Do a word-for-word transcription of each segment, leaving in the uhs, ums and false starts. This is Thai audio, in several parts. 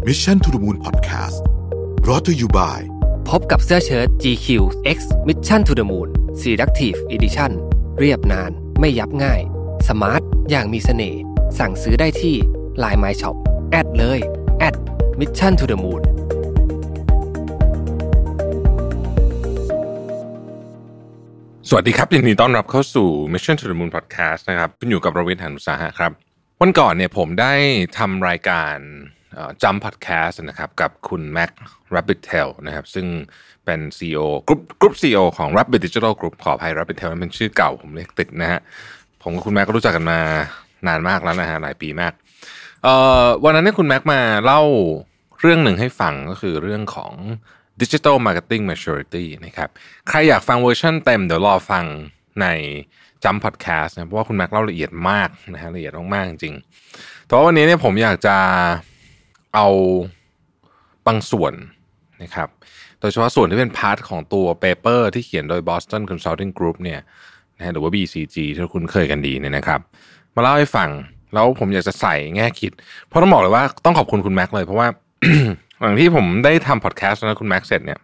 Mission to the Moon Podcast brought to you by พบกับเสื้อเชิ้ต จี คิว X Mission to the Moon Selective Edition เรียบนานไม่ยับง่ายสมาร์ทอย่างมีเสน่ห์สั่งซื้อได้ที่ ไลน์ My Shop แอดเลย แอด Mission to the Moon สวัสดีครับยินดีต้อนรับเข้าสู่ Mission to the Moon Podcast นะครับคุณอยู่กับรวิทย์ หาญอุตสาหะครับวันก่อนเนี่ยผมได้ทำรายการจัมป์พอดแคสต์นะครับกับคุณแม็ก Rabbittail นะครับซึ่งเป็น ซี อี โอ กรุ๊ปกรุ๊ป ซี อี โอ ของ Rabbit Digital Group ขออภัย Rabbittail นั้นเป็นชื่อเก่าผมเรียกติดนะฮะผมกับคุณแม็กก็รู้จักกันมานานมากแล้วนะฮะหลายปีมากเอ่อวันนั้นเนี่ยคุณแม็กมาเล่าเรื่องหนึ่งให้ฟังก็คือเรื่องของ Digital Marketing Maturity นะครับใครอยากฟังเวอร์ชันเต็มเดี๋ยวรอฟังในจัมป์พอดแคสต์นะเพราะว่าคุณแม็กเล่าละเอียดมากนะฮะละเอียดมากๆจริงๆแต่ว่าวันนี้เนี่ยผมอยากจะเอาบางส่วนนะครับโดยเฉพาะส่วนที่เป็นพาร์ทของตัวเปเปอร์ที่เขียนโดย Boston Consulting Group เนี่ยนะหรือว่า บี ซี จี ที่คุ้นเคยกันดีเนี่ยนะครับมาเล่าให้ฟังแล้วผมอยากจะใส่แง่คิดเพราะต้องบอกเลยว่าต้องขอบคุณคุณแม็กเลยเพราะว่า หลังที่ผมได้ทำพอดแคสต์แล้วคุณแม็กเสร็จเนี่ย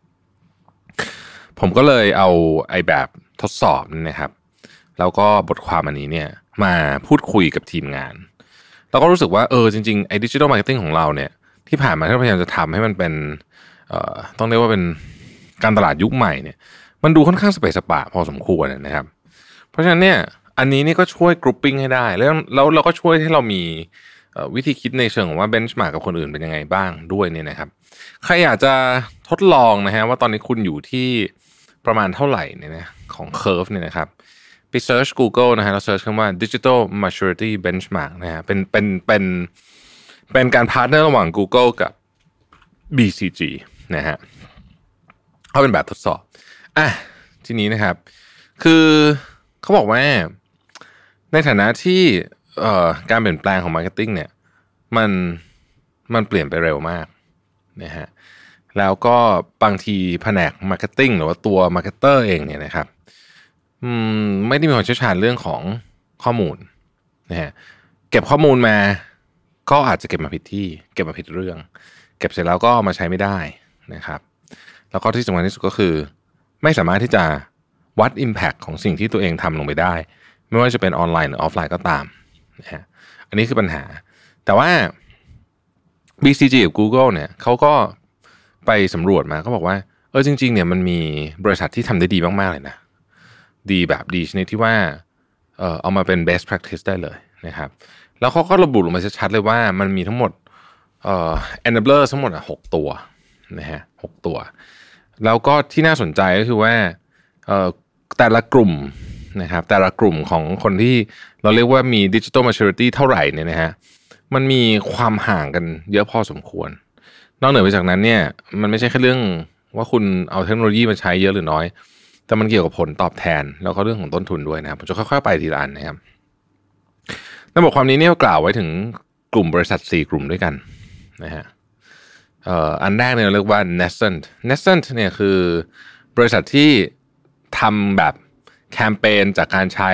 ผมก็เลยเอาไอ้แบบทดสอบนะครับแล้วก็บทความอันนี้เนี่ยมาพูดคุยกับทีมงานเราก็รู้สึกว่าเออจริงๆไอ้ดิจิทัลมาร์เก็ตติ้งของเราเนี่ยที่ผ่านมาที่เราพยายามจะทำให้มันเป็นเอ่อต้องเรียกว่าเป็นการตลาดยุคใหม่เนี่ยมันดูค่อนข้างสเปซสปะพอสมควรนะครับเพราะฉะนั้นเนี่ยอันนี้นี่ก็ช่วยกรุ๊ปปิ้งให้ได้แล้วแล้วเราก็ช่วยให้เรามีวิธีคิดในเชิงของว่าเบนช์มาร์กกับคนอื่นเป็นยังไงบ้างด้วยเนี่ยนะครับใครอยากจะทดลองนะฮะว่าตอนนี้คุณอยู่ที่ประมาณเท่าไหร่เนี่ยนะของเคอร์ฟเนี่ยนะครับไปเซิร์ช Google นะฮะแล้วเซิร์ชคำว่า Digital Maturity Benchmark นะฮะเป็นเป็นเป็นเป็นการพาร์ทเนอร์ระหว่าง Google กับ บี ซี จี นะฮะเขาเป็นแบบทดสอบอ่ะทีนี้นะครับคือเขาบอกว่าในฐานะที่เอ่อการเปลี่ยนแปลงของมาร์เก็ตติ้งเนี่ยมันมันเปลี่ยนไปเร็วมากนะฮะแล้วก็บางทีแผนกมาร์เก็ตติ้งหรือว่าตัวมาร์เก็ตเตอร์เองเนี่ยนะครับอืมไม่ได้มีความเชี่ยวชาญเรื่องของข้อมูลนะฮะเก็บข้อมูลมาก็อาจจะเก็บมาผิดที่เก็บมาผิดเรื่องเก็บเสร็จแล้วก็มาใช้ไม่ได้นะครับแล้วก็ที่สำคัญที่สุดก็คือไม่สามารถที่จะวัด impact ของสิ่งที่ตัวเองทำลงไปได้ไม่ว่าจะเป็นออนไลน์หรือออฟไลน์ก็ตามนะฮะอันนี้คือปัญหาแต่ว่า บี ซี จี กับ Google เนี่ยเขาก็ไปสำรวจมาเขาบอกว่าเออจริงๆเนี่ยมันมีบริษัทที่ทำได้ดีมากๆเลยนะดีแบบดีชนิดที่ว่าเออเอามาเป็น best practice ได้เลยนะครับแล้วเขาก็ระบุลงมาชัดๆเลยว่ามันมีทั้งหมดเอ่อ enabler ทั้งหมดอ่ะหกตัวนะฮะหกตัวแล้วก็ที่น่าสนใจก็คือว่าเอ่อแต่ละกลุ่มนะครับแต่ละกลุ่มของคนที่เราเรียกว่ามี digital maturity เท่าไหร่เนี่ยนะฮะมันมีความห่างกันเยอะพอสมควรนอกเหนือไปจากนั้นเนี่ยมันไม่ใช่แค่เรื่องว่าคุณเอาเทคโนโลยีมาใช้เยอะหรือน้อยแต่มันเกี่ยวกับผลตอบแทนแล้วก็เรื่องของต้นทุนด้วยนะครับผมจะค่อยๆไปทีละอันนะครับในบทความนี้เนี่ยกล่าวไว้ถึงกลุ่มบริษัทสี่กลุ่มด้วยกันนะฮะเอ่ออันแรกเนี่ยเรียกว่า nascent nascent เนี่ยคือบริษัทที่ทำแบบแคมเปญจากการใช้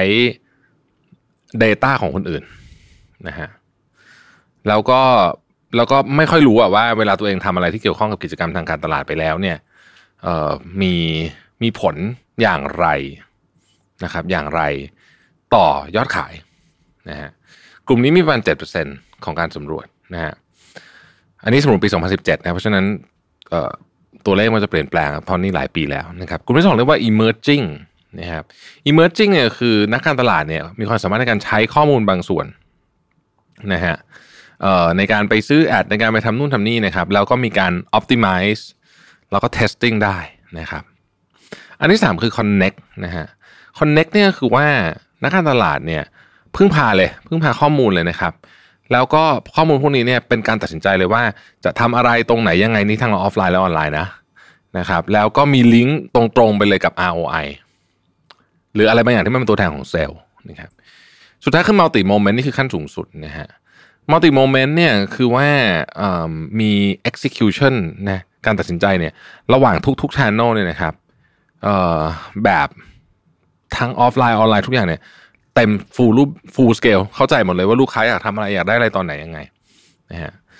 data ของคนอื่นนะฮะแล้วก็แล้วก็ไม่ค่อยรู้อะว่าเวลาตัวเองทำอะไรที่เกี่ยวข้องกับกิจกรรมทางการตลาดไปแล้วเนี่ยเอ่อมีมีผลอย่างไรนะครับอย่างไรต่อยอดขายนะฮะกลุ่มนี้มีประมาณ เจ็ดเปอร์เซ็นต์ ของการสำรวจนะฮะอันนี้สำรวจปีสองพันสิบเจ็ดนะเพราะฉะนั้นเอ่อตัวเลขมันจะเปลี่ยนแปลงเพราะนี่หลายปีแล้วนะครับกลุ่มที่สองเรียกว่า emerging นะครับ emerging เนี่ยคือนักการตลาดเนี่ยมีความสามารถในการใช้ข้อมูลบางส่วนนะฮะเอ่อในการไปซื้อแอดในการไปทำนู่นทำนี่นะครับแล้วก็มีการ optimize แล้วก็ testing ได้นะครับอันที่สามคือ connect นะฮะ connect เนี่ยคือว่านักการตลาดเนี่ยพึ่งพาเลยพึ่งพาข้อมูลเลยนะครับแล้วก็ข้อมูลพวกนี้เนี่ยเป็นการตัดสินใจเลยว่าจะทำอะไรตรงไหนยังไงนี่ทั้งออฟไลน์และออนไลน์นะนะครับแล้วก็มีลิงก์ตรงๆไปเลยกับ อาร์ โอ ไอ หรืออะไรบางอย่างที่มันเป็นตัวแทนของเซลล์นะครับสุดท้ายคือ multi moment นี่คือขั้นสูงสุดนะฮะ multi moment เนี่ยคือว่ามี execution นะการตัดสินใจเนี่ยระหว่างทุกๆ channel เนี่ยนะครับแบบทั้งออฟไลน์ออนไลน์ทุกอย่างเนี่ยเต็ม full รูป full scale เข้าใจหมดเลยว่าลูกค้าอยากทำอะไรอยากได้อะไรตอนไหนยังไงนะฮะ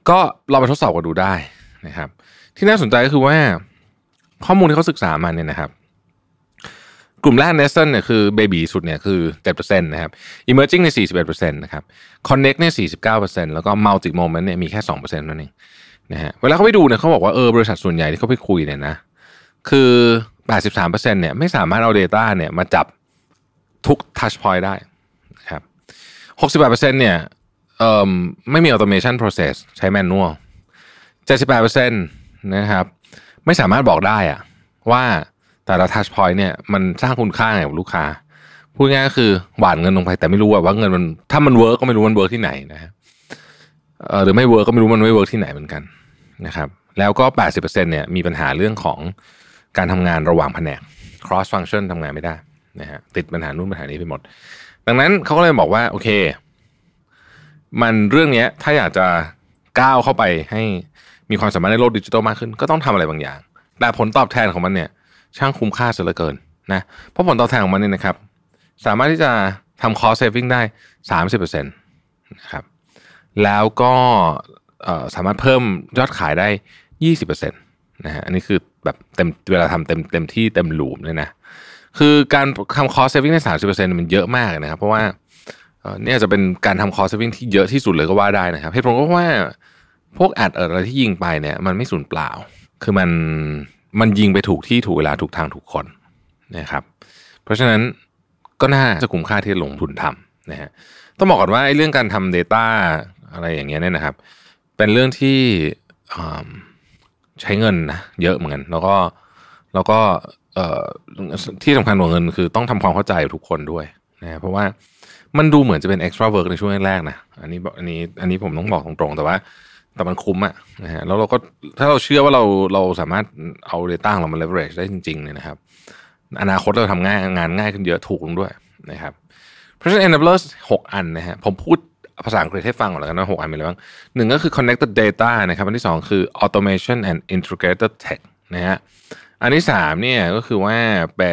ก็เราไปทดสอบกันดูได้นะครับที่น่าสนใจก็คือว่าข้อมูลที่เขาศึกษามาเนี่ยนะครับกลุ่มแรก Nascent เนี่ยคือเบบีสุดเนี่ยคือ เจ็ดเปอร์เซ็นต์ นะครับ Emerging เนี่ย สี่สิบเอ็ดเปอร์เซ็นต์ นะครับ Connect เนี่ย สี่สิบเก้าเปอร์เซ็นต์ แล้วก็ Multi Moment เนี่ยมีแค่ สองเปอร์เซ็นต์ นั่นเองนะฮะเวลาเขาไปดูเนี่ยเขาบอกว่าเออบริษัทส่วนใหญ่ที่เขาไปคุยเนี่ยนะคือ แปดสิบสามเปอร์เซ็นต์ เนี่ยไม่สามารถเอา data เนี่ยมาจับทุก touch point ได้นะครับ หกสิบแปดเปอร์เซ็นต์ เนี่ยเอ่อไม่มี automation process ใช้ manual เจ็ดสิบแปดเปอร์เซ็นต์ นะครับไม่สามารถบอกได้อะว่าแต่ละ touch point เนี่ยมันสร้างคุณค่าไงกับลูกค้าพูดง่ายก็คือหว่านเงินลงไปแต่ไม่รู้ว่าเงินมันถ้ามันเวิร์กก็ไม่รู้มันเวิร์กที่ไหนนะฮะเอ่อหรือไม่เวิร์กก็ไม่รู้มันไม่เวิร์กที่ไหนเหมือนกันนะครับแล้วก็ แปดสิบเปอร์เซ็นต์ เนี่ยมีปัญหาเรื่องของการทำงานระหว่างแผนก cross function ทำงานไม่ได้นะฮะติดปัญหานู่นปัญหานี้ไปหมดดังนั้นเขาก็เลยบอกว่าโอเคมันเรื่องนี้ถ้าอยากจะก้าวเข้าไปให้มีความสามารถในโลกดิจิทัลมากขึ้นก็ต้องทำอะไรบางอย่างแต่ผลตอบแทนของมันเนี่ยช่างคุ้มค่าเสียเหลือเกินนะเพราะผลตอบแทนของมันเนี่ยนะครับสามารถที่จะทำ cost saving ได้ สามสิบเปอร์เซ็นต์ นะครับแล้วก็สามารถเพิ่มยอดขายได้ ยี่สิบเปอร์เซ็นต์ นะฮะอันนี้คือแบบเต็มเวลาทำเต็มเต็มที่เต็มลูปเลยนะคือการทำ cost saving ได้ สามสิบเปอร์เซ็นต์ มันเยอะมากนะครับเพราะว่าเนี่ยจะเป็นการทำ cost saving ที่เยอะที่สุดเลยก็ว่าได้นะครับเหตุผลก็ว่าพวกแอดอะไรที่ยิงไปเนี่ยมันไม่สูญเปล่าคือมันมันยิงไปถูกที่ถูกเวลาถูกทางถูกคนนะครับเพราะฉะนั้นก็น่าจะคุ้มค่าที่จะลงทุนทำนะฮะต้องบอกก่อนว่าไอ้เรื่องการทำ data อะไรอย่างเงี้ยเนี่ยนะครับเป็นเรื่องที่ใช้เงินนะเยอะเหมือนกันแล้วก็แล้วก็ที่สำคัญกว่าเงินคือต้องทำความเข้าใจกับทุกคนด้วยนะเพราะว่ามันดูเหมือนจะเป็น extra work ในช่วงแรกๆนะอันนี้อันนี้อันนี้ผมต้องบอกตรงๆแต่ว่าแต่มันคุ้มอะนะฮะแล้วเราก็ถ้าเราเชื่อว่าเราเราสามารถเอา data ของเรามา leverage ได้จริงๆเนี่ยนะครับอนาคตเราทำง่ายงานง่ายขึ้นเยอะถูกลงด้วยนะครับเพราะฉะนั้น enablers หกอันนะฮะผมพูดภาษาอังกฤษให้ฟังก่อนแล้วกันว่าหกอันมีอะไรบ้างหนึ่งก็คือ connected data นะครับอันที่สองคือ automation and integrated tech นะฮะอันที่สามเนี่ยก็คือว่าเป็น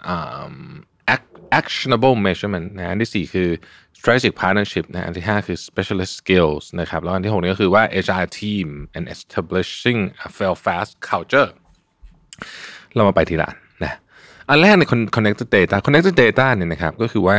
actionable measurement นะอันที่สี่คือ strategic partnership นะอันที่ห้าคือ specialist skills นะครับแล้วอันที่หกนี่ก็คือว่า agile team and establishing a fail fast culture เรามาไปทีละนะอันแรกใน connected data connected data เนี่ยนะครับก็คือว่า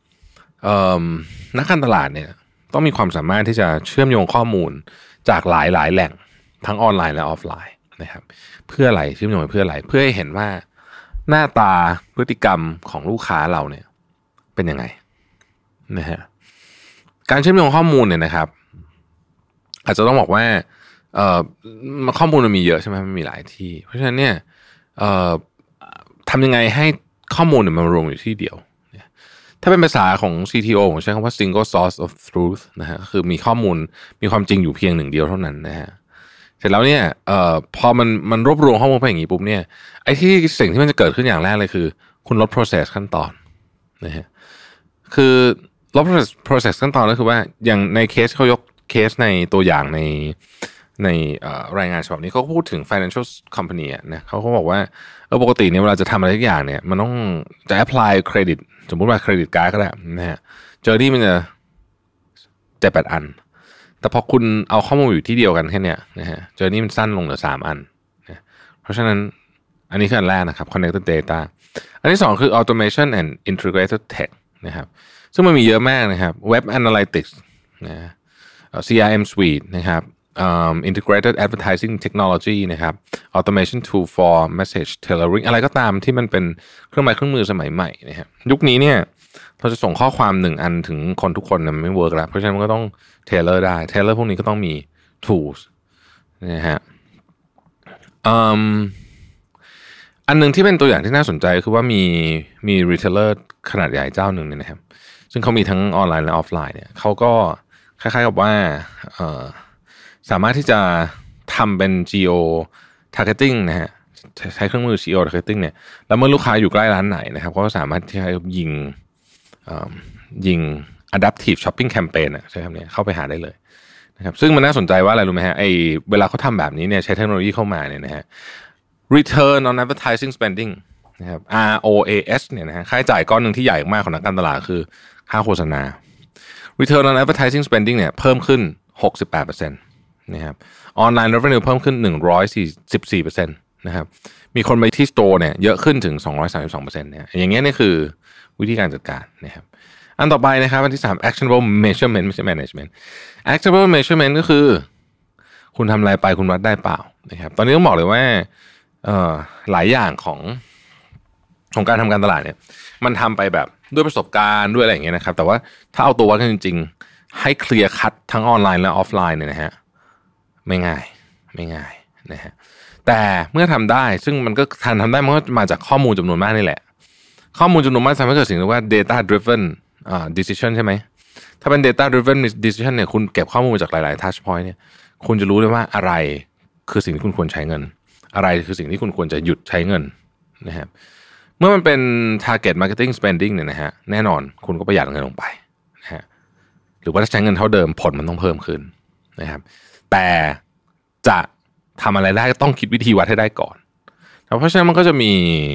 นักการตลาดเนี่ยต้องมีความสามารถที่จะเชื่อมโยงข้อมูลจากหลายหลายแหล่งทั้งออนไลน์และออฟไลน์นะครับเพื่ออะไรเชื่อมโยงเพื่ออะไรเพื่อให้เห็นว่าหน้าตาพฤติกรรมของลูกค้าเราเนี่ยเป็นยังไงนะฮะการเชื่อมโยงข้อมูลเนี่ยนะครับอาจจะต้องบอกว่าเอ่อข้อมูลมันมีเยอะใช่ไหมมันมีหลายที่เพราะฉะนั้นเนี่ยเอ่อทำยังไงให้ข้อมูลเนี่ยมันรวมอยู่ที่เดียวถ้าเป็นภาษาของ ซี ที โอ ผมใช้คำว่า single source of truth นะฮะคือมีข้อมูลมีความจริงอยู่เพียงหนึ่งเดียวเท่านั้นนะฮะเสร็จแล้วเนี่ยเอ่อพอมันมันรวบรวมข้อมูลไปอย่างนี้ปุ๊บเนี่ยไอ้ที่สิ่งที่มันจะเกิดขึ้นอย่างแรกเลยคือคุณลด process ขั้นตอนนะฮะคือลด process ขั้นตอนก็คือว่าอย่างในเคสเขายกเคสในตัวอย่างในในรายงานฉบับนี้เขาพูดถึง financial company อ่ะนะเขาก็บอกว่าเออปกติเนี่ยเวลาจะทำอะไรทุกอย่างเนี่ยมันต้องจะ apply credit สมมุติว่าเครดิตการ์ดก็ได้นะฮะเจอร์นี่มันจะเจ็ดแปดอันแต่พอคุณเอาข้อมูลอยู่ที่เดียวกันแค่เนี้ยนะฮะเจอร์นี่มันสั้นลงเหลือสามอันนะเพราะฉะนั้นอันนี้คืออันแรกนะครับ connected data อันที่สองคือ automation and integrated tech นะครับซึ่งมันมีเยอะมากนะครับ web analytics นะ ซี อาร์ เอ็ม suite นะครับ um, integrated advertising technology นะครับ automation tool for message tailoring อะไรก็ตามที่มันเป็นเครื่องไม้เครื่องมือสมัยใหม่นะครับยุคนี้เนี่ยเราจะส่งข้อความหนึ่งอันถึงคนทุกคนมันไม่เวิร์กแล้วเพราะฉะนั้นมันก็ต้อง tailor ได้ tailor พวกนี้ก็ต้องมี tools นะฮะ um, อันนึงที่เป็นตัวอย่างที่น่าสนใจคือว่ามีมี retailer ขนาดใหญ่เจ้าหนึ่งเนี่ยนะครับซึ่งเขามีทั้งออนไลน์และออฟไลน์เนี่ยเขาก็คล้ายๆกับว่าเอ่อสามารถที่จะทำเป็น geo targeting นะฮะใช้เครื่องมือ geo targeting เนี่ยแล้วเมื่อลูกค้าอยู่ใกล้ร้านไหนนะครับเขาก็สามารถที่จะยิงยิง adaptive shopping campaign อ่ะใช่คำนี้เข้าไปหาได้เลยนะครับซึ่งมันน่าสนใจว่าอะไรรู้ไหมฮะไอ้เวลาเขาทำแบบนี้เนี่ยใช้เทคโนโลยีเข้ามาเนี่ยนะฮะ return on advertising spending นะครับ อาร์ โอ เอ เอส เนี่ยนะฮะค่าใช้จ่ายก้อนหนึ่งที่ใหญ่มากของนักการตลาดคือค่าโฆษณา return on advertising spending เนี่ยเพิ่มขึ้น หกสิบแปดเปอร์เซ็นต์นะครับออนไลน์ revenue เพิ่มขึ้น หนึ่งร้อยสี่สิบสี่เปอร์เซ็นต์ นะครับมีคนไปที่ store เนี่ยเยอะขึ้นถึง สองร้อยสามสิบสองเปอร์เซ็นต์ เนี่ยอย่างเงี้ยนี่คือวิธีการจัดการนะครับอันต่อไปนะครับอันที่สาม actionable measurement ไม่ใช่ management actionable measurement ก็คือคุณทำอะไรไปคุณวัดได้เปล่านะครับตอนนี้ต้องบอกเลยว่าเอ่อหลายอย่างของของการทำการตลาดเนี่ยมันทำไปแบบด้วยประสบการณ์ด้วยอะไรอย่างเงี้ยนะครับแต่ว่าถ้าเอาตัววัดกันจริงๆให้เคลียร์คัททั้งออนไลน์และออฟไลน์เนี่ยนะฮะไม่ง่ายไม่ง่ายนะฮะแต่เมื่อทำได้ซึ่งมันก็ทันทำได้มันก็มาจากข้อมูลจำนวนมากนี่แหละข้อมูลจำนวนมากทำให้เกิดสิ่งที่เรียกว่า data driven อ่า decision ใช่ไหมถ้าเป็น data driven decision เนี่ยคุณเก็บข้อมูลมาจากหลายๆ touch point เนี่ยคุณจะรู้ได้ว่าอะไรคือสิ่งที่คุณควรใช้เงินอะไรคือสิ่งที่คุณควรจะหยุดใช้เงินนะครับเมื่อมันเป็น target marketing spending เนี่ยนะฮะแน่นอนคุณก็ประหยัดเงินลงไปนะฮะหรือว่าถ้าใช้เงินเท่าเดิมผลมันต้องเพิ่มขึ้นนะครับแต่จะทำอะไรได้ก็ต้องคิดวิธีวัดให้ได้ก่อนเพราะฉะนั้นมันก็จะมี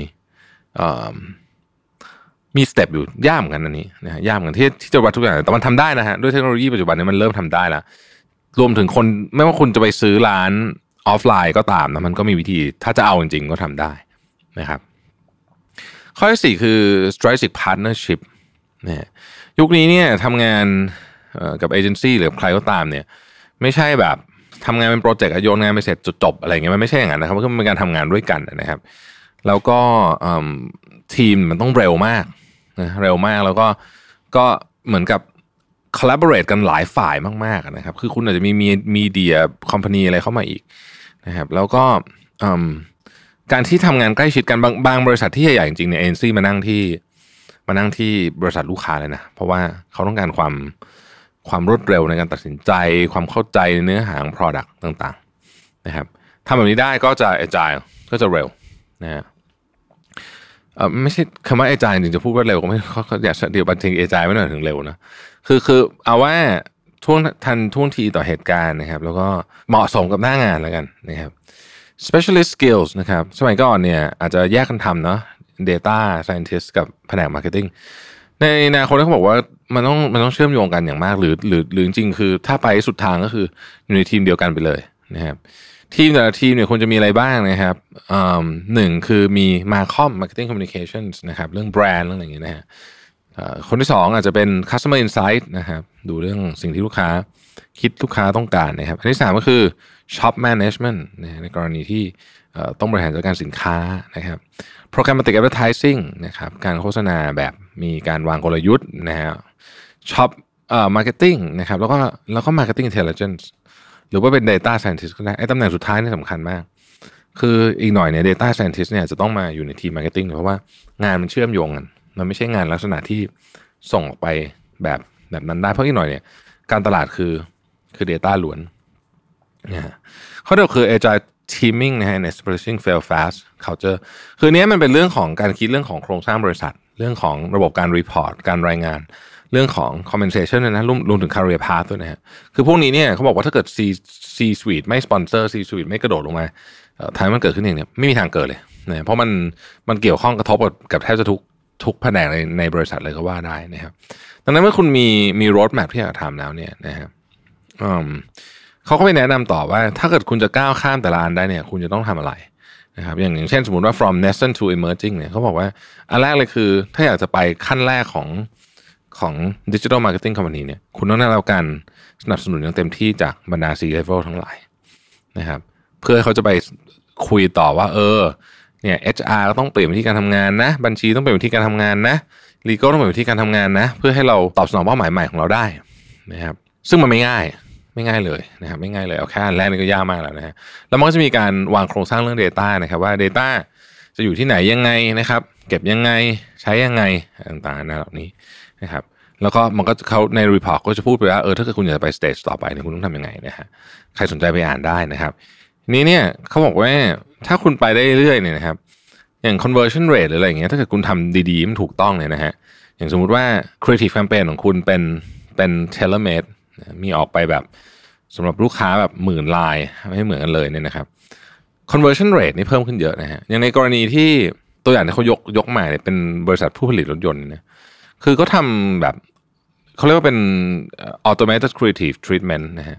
มีสเต็ปอยู่ยากเหมือนกันอันนี้นะฮะยากเหมือนที่ที่จะวัดทุกอย่างแต่มันทำได้นะฮะด้วยเทคโนโลยีปัจจุบันนี้มันเริ่มทำได้แล้วรวมถึงคนไม่ว่าคุณจะไปซื้อร้านออฟไลน์ก็ตามนะมันก็มีวิธีถ้าจะเอาจริงๆก็ทำได้นะครับข้อที่สี่คือ strategic partnership นะยุคนี้เนี่ยทำงานกับเอเจนซี่หรือใครก็ตามเนี่ยไม่ใช่แบบทำงานเป็นโปรเจกต์โยนงานไปเสร็จจบอะไรเงี้ยมันไม่ใช่อย่างนั้นนะครับมันก็เป็นการทำงานด้วยกันนะครับแล้วก็ทีมมันต้องเร็วมากนะเร็วมากแล้วก็ก็เหมือนกับ collaborate กันหลายฝ่ายมากๆนะครับคือคุณอาจจะมีมีเดียคอมพานีอะไรเข้ามาอีกนะครับแล้วก็การที่ทำงานใกล้ชิดกันบางบางบริษัทที่ใหญ่ๆจริงๆเนี่ยเอ็นซีมานั่งที่มานั่งที่บริษัทลูกค้าเลยนะเพราะว่าเขาต้องการความความรวดเร็วในการตัดสินใจความเข้าใจในเนื้อหาของ product ต่างๆนะครับทำแบบนี้ได้ก็จะ agile ก็จะเร็วนะฮะเอ่อไม่ใช่คำว่า agile จริงจะพูดว่าเร็วก็ไม่เขาอยากเดี๋ยวบางที agile ไม่หน่อยถึงเร็วนะคือคือเอาว่าท่วงทันท่วงทีต่อเหตุการณ์นะครับแล้วก็เหมาะสมกับหน้างานแล้วกันนะครับ specialist skills นะครับสมัยก่อนเนี่ยอาจจะแยกกันทำเนาะ data scientist กับแผนก marketing ในอนาคตเขาบอกว่ามันต้องมันต้องเชื่อมโยงกันอย่างมากหรือหรือหรือจริงๆคือถ้าไปสุดทางก็คืออยู่ในทีมเดียวกันไปเลยนะครับทีมแต่ละทีมเนี่ยควรจะมีอะไรบ้างนะครับอ่าหนึ่งคือมี Marcom Marketing Communications นะครับเรื่องแบรนด์เรื่องอะไรอย่างเงี้ยนะฮะคนที่สองอาจจะเป็น Customer Insight นะครับดูเรื่องสิ่งที่ลูกค้าคิดลูกค้าต้องการนะครับอันที่สามก็คือ Shop Management นะในกรณีที่ต้องบริหารจัดการสินค้านะครับ Programmatic Advertising นะครับการโฆษณาแบบมีการวางกลยุทธ์นะฮะ Shop เอ่อ Marketing นะครับแล้วก็แล้วก็ Marketing Intelligence หรือว่าเป็น Data Scientist ก็ได้ไอ้ตำแหน่งสุดท้ายนี่สำคัญมากคืออีกหน่อยเนี่ย Data Scientist เนี่ยจะต้องมาอยู่ในทีม Marketing เพราะว่างานมันเชื่อมโยงกันมันไม่ใช่งานลักษณะที่ส่งออกไปแบบแบบนั้นได้เพราะอีกหน่อยเนี่ยการตลาดคือคือ data ล้วนนะฮะข้อเดียวคือ agile teaming นะฮะ and establishing fail fast culture คือเนี้ยมันเป็นเรื่องของการคิดเรื่องของโครงสร้างบริษัทเรื่องของระบบการ report การรายงานเรื่องของ compensation นะรวมรวมถึง career path ด้วยนะฮะคือพวกนี้เนี่ยเขาบอกว่าถ้าเกิด C C suite ไม่ sponsor C suite ไม่กระโดดลงมาท้ายมันเกิดขึ้นเองเนี่ยไม่มีทางเกิดเลยนะเพราะมันมันเกี่ยวข้องกระทบกับแทบจะทุกทุกแผนกในในบริษัทเลยก็ว่าได้นะครับดังนั้นเมื่อคุณมีมี road map ที่อยากทำแล้วเนี่ยนะครับเขาก็ไปแนะนำต่อว่าถ้าเกิดคุณจะก้าวข้ามแต่ละอันได้เนี่ยคุณจะต้องทำอะไรนะครับอย่างอย่างเช่นสมมติว่า from nascent to emerging เนี่ยเขาบอกว่าอันแรกเลยคือถ้าอยากจะไปขั้นแรกของของ digital marketing company เนี่ยคุณต้องได้รับการสนับสนุนอย่างเต็มที่จากบรรดา C level ทั้งหลายนะครับเพื่อเขาจะไปคุยต่อว่าเออเนี่ย เอช อาร์ ก็ต้องเปลี่ยนวิธีการทำงานนะบัญชีต้องเปลี่ยนวิธีการทำงานนะ legal ต้องเปลี่ยนวิธีการทำงานนะเพื่อให้เราตอบสนองเป้าหมายใหม่ของเราได้นะครับซึ่งมันไม่ง่ายไม่ง่ายเลยนะครับไม่ง่ายเลยเอาแค่อันแรกนี่ก็ยากมากแล้วนะฮะแล้วมันก็จะมีการวางโครงสร้างเรื่อง data นะครับว่า data จะอยู่ที่ไหนยังไงนะครับเก็บยังไงใช้ยังไงต่างๆนะเหล่านี้นะครับแล้วก็มันก็เขาใน report ก็จะพูดไปว่าเออถ้าเกิดคุณอยากจะไป stage ต่อไปเนี่ยคุณต้องทำยังไงนะฮะใครสนใจไปอ่านได้นะครับนี้เนี่ยเขาบอกว่าถ้าคุณไปได้เรื่อยๆเนี่ยนะครับอย่าง conversion rate หรืออะไรอย่างเงี้ยถ้าเกิดคุณทำดีๆมันถูกต้องเนี่ยนะฮะอย่างสมมุติว่า creative campaign ของคุณเป็นเป็น tailor made มีออกไปแบบสำหรับลูกค้าแบบหมื่นลายไม่ให้เหมือนกันเลยเนี่ยนะครับ conversion rate นี่เพิ่มขึ้นเยอะนะฮะอย่างในกรณีที่ตัวอย่างที่เขายกยกมาเนี่ยเป็นบริษัทผู้ผลิตรถยนต์เนี่ยคือเขาทำแบบเขาเรียกว่าเป็น automated creative treatment นะฮะ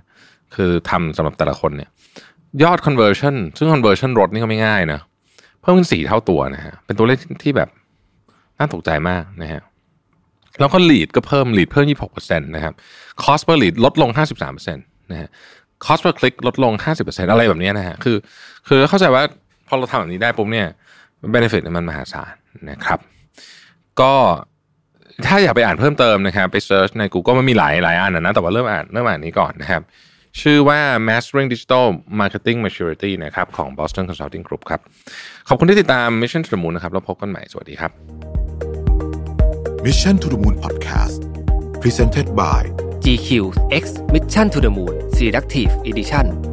คือทำสำหรับแต่ละคนเนี่ยยอด conversion ซึ่ง conversion รถนี่ก็ไม่ง่ายนะเพิ่มขึ้นสี่เท่าตัวนะฮะเป็นตัวเลขที่แบบน่าตกใจมากนะฮะแล้วก็ lead ก็เพิ่ม lead เพิ่ม ยี่สิบหกเปอร์เซ็นต์ นะครับ cost per lead ลดลง ห้าสิบสามเปอร์เซ็นต์ นะฮะ cost per click ลดลง ห้าสิบเปอร์เซ็นต์ อะไรแบบนี้นะฮะคือคือเข้าใจว่าพอเราทำแบบนี้ได้ปุ๊บเนี่ย benefit มันมหาศาลนะครับก็ถ้าอยากไปอ่านเพิ่มเติมนะครับไปเซิร์ชใน Google มันมีหลายหลายอันนะแต่ว่าเริ่มอ่านเริ่มอ่านนี้ก่อนนะครับชื่อว่า Mastering Digital Marketing Maturity นะครับของ Boston Consulting Group ครับขอบคุณที่ติดตาม Mission to the Moon นะครับแล้วพบกันใหม่สวัสดีครับ Mission to the Moon Podcast Presented by จี คิว X Mission to the Moon Selective Edition